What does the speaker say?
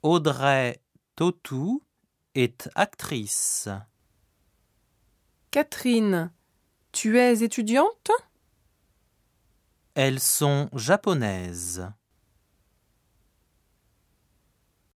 Audrey Tautou est actrice. Catherine, tu es étudiante? Elles sont japonaises.